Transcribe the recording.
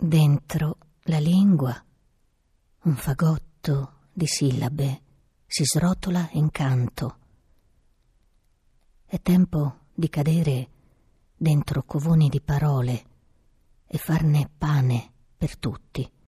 Dentro la lingua un fagotto di sillabe si srotola in canto. È tempo di cadere dentro covoni di parole e farne pane per tutti.